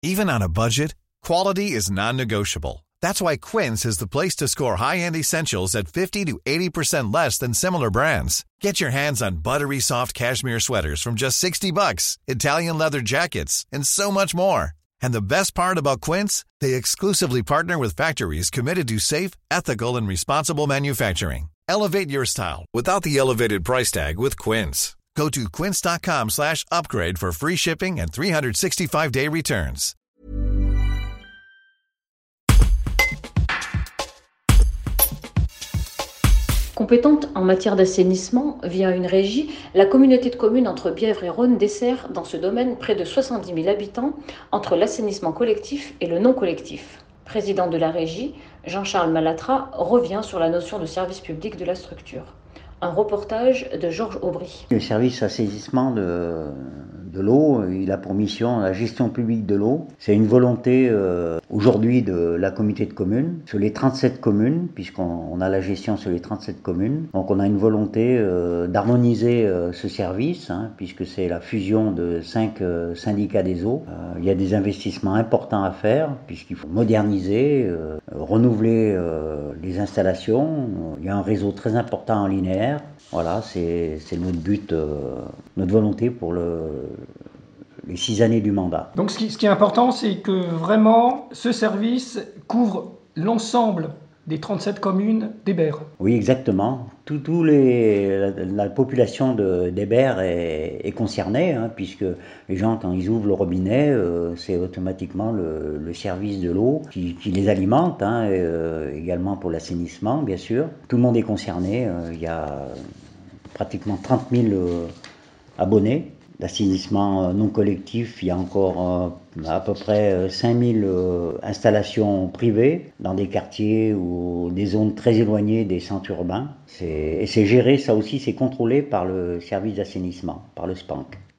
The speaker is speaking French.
Even on a budget, quality is non-negotiable. That's why Quince is the place to score high-end essentials at 50 to 80% less than similar brands. Get your hands on buttery soft cashmere sweaters from just $60, Italian leather jackets, and so much more. And the best part about Quince, they exclusively partner with factories committed to safe, ethical, and responsible manufacturing. Elevate your style without the elevated price tag with Quince. Go to quince.com/upgrade for free shipping and 365-day returns. Compétente en matière d'assainissement, via une régie, la communauté de communes entre Bièvre et Rhône dessert dans ce domaine près de 70 000 habitants entre l'assainissement collectif et le non collectif. Président de la régie, Jean-Charles Malatra revient sur la notion de service public de la structure. Un reportage de Georges Aubry. Le service assainissement de l'eau, il a pour mission la gestion publique de l'eau. C'est une volonté aujourd'hui de la communauté de communes, sur les 37 communes, puisqu'on a la gestion sur les 37 communes. Donc on a une volonté d'harmoniser ce service, puisque c'est la fusion de 5 syndicats des eaux. Il y a des investissements importants à faire, puisqu'il faut moderniser, renouveler les installations. Il y a un réseau très important en linéaire. Voilà, c'est notre but, notre volonté pour les 6 années du mandat. Donc ce qui est important, c'est que vraiment ce service couvre l'ensemble des 37 communes d'Hébert. Oui, exactement. La population d'Hébert est concernée, puisque les gens, quand ils ouvrent le robinet, c'est automatiquement le service de l'eau qui les alimente, également pour l'assainissement, bien sûr. Tout le monde est concerné. Il y a pratiquement 30 000 abonnés. L'assainissement non collectif, il y a encore à peu près 5 000 installations privées dans des quartiers ou des zones très éloignées des centres urbains. Et c'est géré, ça aussi, c'est contrôlé par le service d'assainissement, par le SPANC.